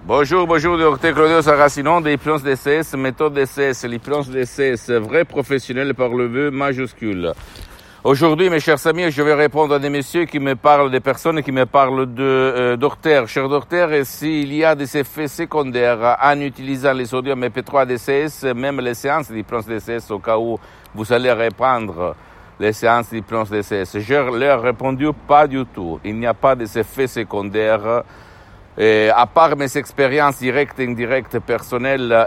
Bonjour, docteur Claudio Saracino de l'hypnose DCS, méthode DCS, l'hypnose DCS, vrai professionnel par le vœu majuscule. Aujourd'hui, mes chers amis, je vais répondre à des messieurs qui me parlent, des personnes qui me parlent de docteur, cher docteur, et s'il y a des effets secondaires en utilisant les sodium EP3 DCS, même les séances d'hypnose DCS, au cas où vous allez reprendre les séances d'hypnose DCS. Je leur ai répondu pas du tout. Il n'y a pas d'effets secondaires. À part mes expériences directes et indirectes personnelles,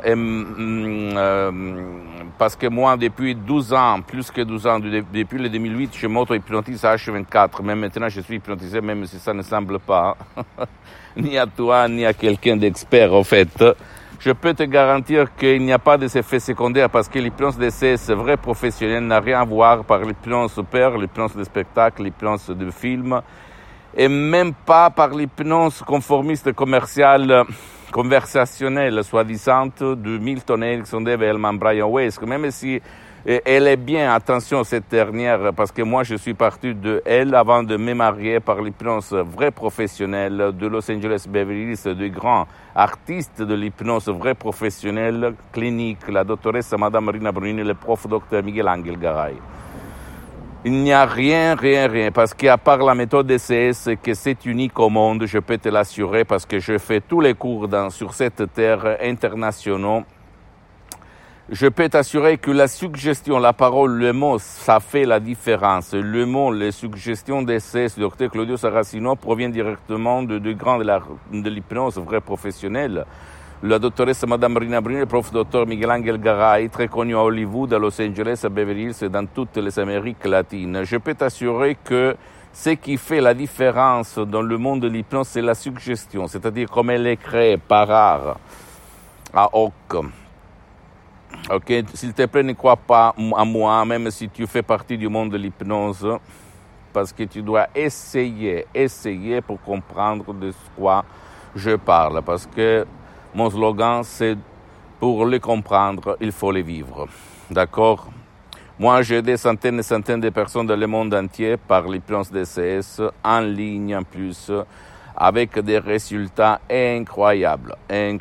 parce que moi, depuis 12 ans, plus que 12 ans, depuis le 2008, je m'auto-hypnotise à H24. Même maintenant, je suis hypnotisé, même si ça ne semble pas, ni à toi, ni à quelqu'un d'expert, en fait. Je peux te garantir qu'il n'y a pas d'effets secondaires parce que l'hypnose DCS vrai professionnel n'a rien à voir par l'hypnose père, l'hypnose de spectacle, l'hypnose de film, et même pas par l'hypnose conformiste commerciale, conversationnelle, soi-disant, de Milton Erickson, Dave Hellman, Brian Weiss, même si elle est bien, attention, cette dernière, parce que moi, je suis parti de elle avant de me marier par l'hypnose vraie professionnelle de Los Angeles Beverly Hills, de grands artistes de l'hypnose vraie professionnelle clinique, la doctoresse Madame Rina Brunini, le prof docteur Miguel Angel Garay. Il n'y a rien, parce qu'à part la méthode DCS, que c'est unique au monde, je peux te l'assurer, parce que je fais tous les cours sur cette terre internationaux. Je peux t'assurer que la suggestion, la parole, le mot, ça fait la différence. Le mot, les suggestions d'essai du docteur Claudio Saracino provient directement de grands de l'hypnose vrai professionnelle. La doctoresse Madame Rina Brunini, le prof docteur Miguel Angel Garay, très connu à Hollywood, à Los Angeles, à Beverly Hills et dans toutes les Amériques latines. Je peux t'assurer que ce qui fait la différence dans le monde de l'hypnose, c'est la suggestion, c'est-à-dire comme elle est créée par art, à hoc. Ok, s'il te plaît, ne crois pas à moi, même si tu fais partie du monde de l'hypnose, parce que tu dois essayer pour comprendre de quoi je parle, parce que mon slogan, c'est pour le comprendre, il faut le vivre. D'accord? Moi, j'ai des centaines et centaines de personnes dans le monde entier par l'hypnose DCS, en ligne en plus, avec des résultats incroyables.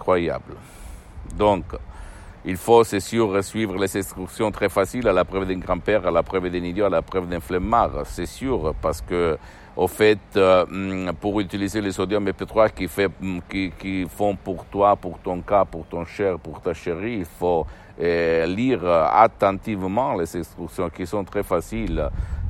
Donc, il faut, c'est sûr, suivre les instructions très faciles à la preuve d'un grand-père, à la preuve d'un idiot, à la preuve d'un flemmard. C'est sûr, parce que, au fait, pour utiliser les sodium EP3 qui font pour toi, pour ton cas, pour ton cher, pour ta chérie, il faut lire attentivement les instructions qui sont très faciles,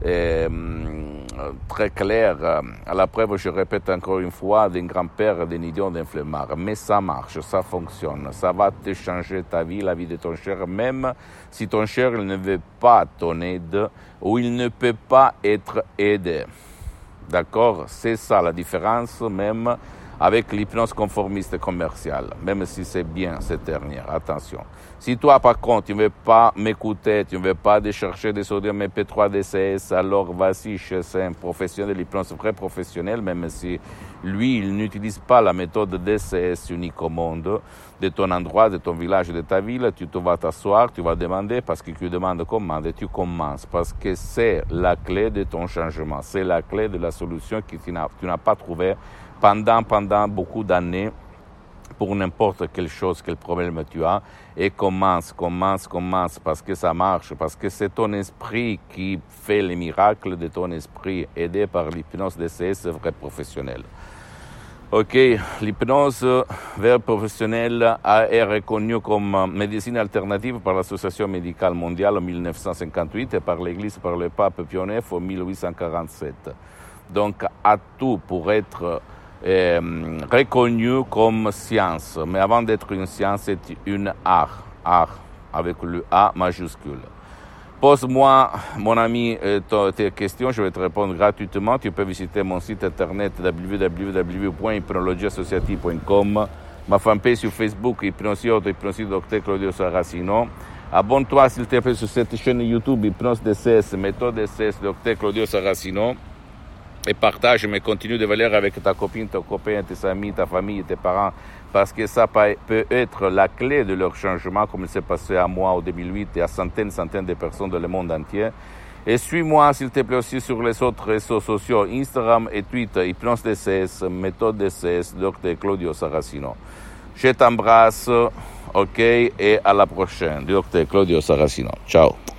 très claires. À la preuve, je répète encore une fois, d'un grand-père, d'un idiot, d'un flemmard. Mais ça marche, ça fonctionne. Ça va te changer ta vie, la vie de ton cher, même si ton cher il ne veut pas ton aide ou il ne peut pas être aidé. D'accord? C'est ça la différence même avec l'hypnose conformiste commerciale, même si c'est bien cette dernière, attention. Si toi par contre tu ne veux pas m'écouter, tu ne veux pas chercher des sodium EP3 DCS, alors vas-y chez un professionnel de l'hypnose vrai professionnel, même si lui il n'utilise pas la méthode DCS unique au monde, de ton endroit, de ton village, de ta ville, tu te vas t'asseoir, tu vas demander, parce que tu demandes comment, et tu commences, parce que c'est la clé de ton changement, c'est la clé de la solution que tu n'as pas trouvée pendant beaucoup d'années pour n'importe quelle chose, quel problème tu as, et commence, parce que ça marche, parce que c'est ton esprit qui fait les miracles de ton esprit, aidé par l'hypnose DCS vrai professionnel. Ok, l'hypnose vrai professionnelle est reconnue comme médecine alternative par l'Association médicale mondiale en 1958 et par l'Église, par le pape Pie IX en 1847. Donc, à tout pour être reconnu comme science. Mais avant d'être une science, c'est une art avec le A majuscule. Pose-moi, mon ami, tes questions, je vais te répondre gratuitement. Tu peux visiter mon site internet www.hypnologieassociative.com, ma fanpage sur Facebook, Hypnosie Docteur Claudio Saracino. Abonne-toi, s'il te plaît, sur cette chaîne YouTube, Hypnose DCS, méthode DCS, Docteur Claudio Saracino. Et partage, mais continue de valeur avec ta copine, ton copain, tes amis, ta famille, tes parents, parce que ça peut être la clé de leur changement, comme il s'est passé à moi en 2008 et à centaines de personnes dans le monde entier. Et suis-moi, s'il te plaît, aussi sur les autres réseaux sociaux, Instagram et Twitter, Hypnose DCS, méthode DCS, Dr. Claudio Saracino. Je t'embrasse, ok, et à la prochaine. Docteur Claudio Saracino. Ciao.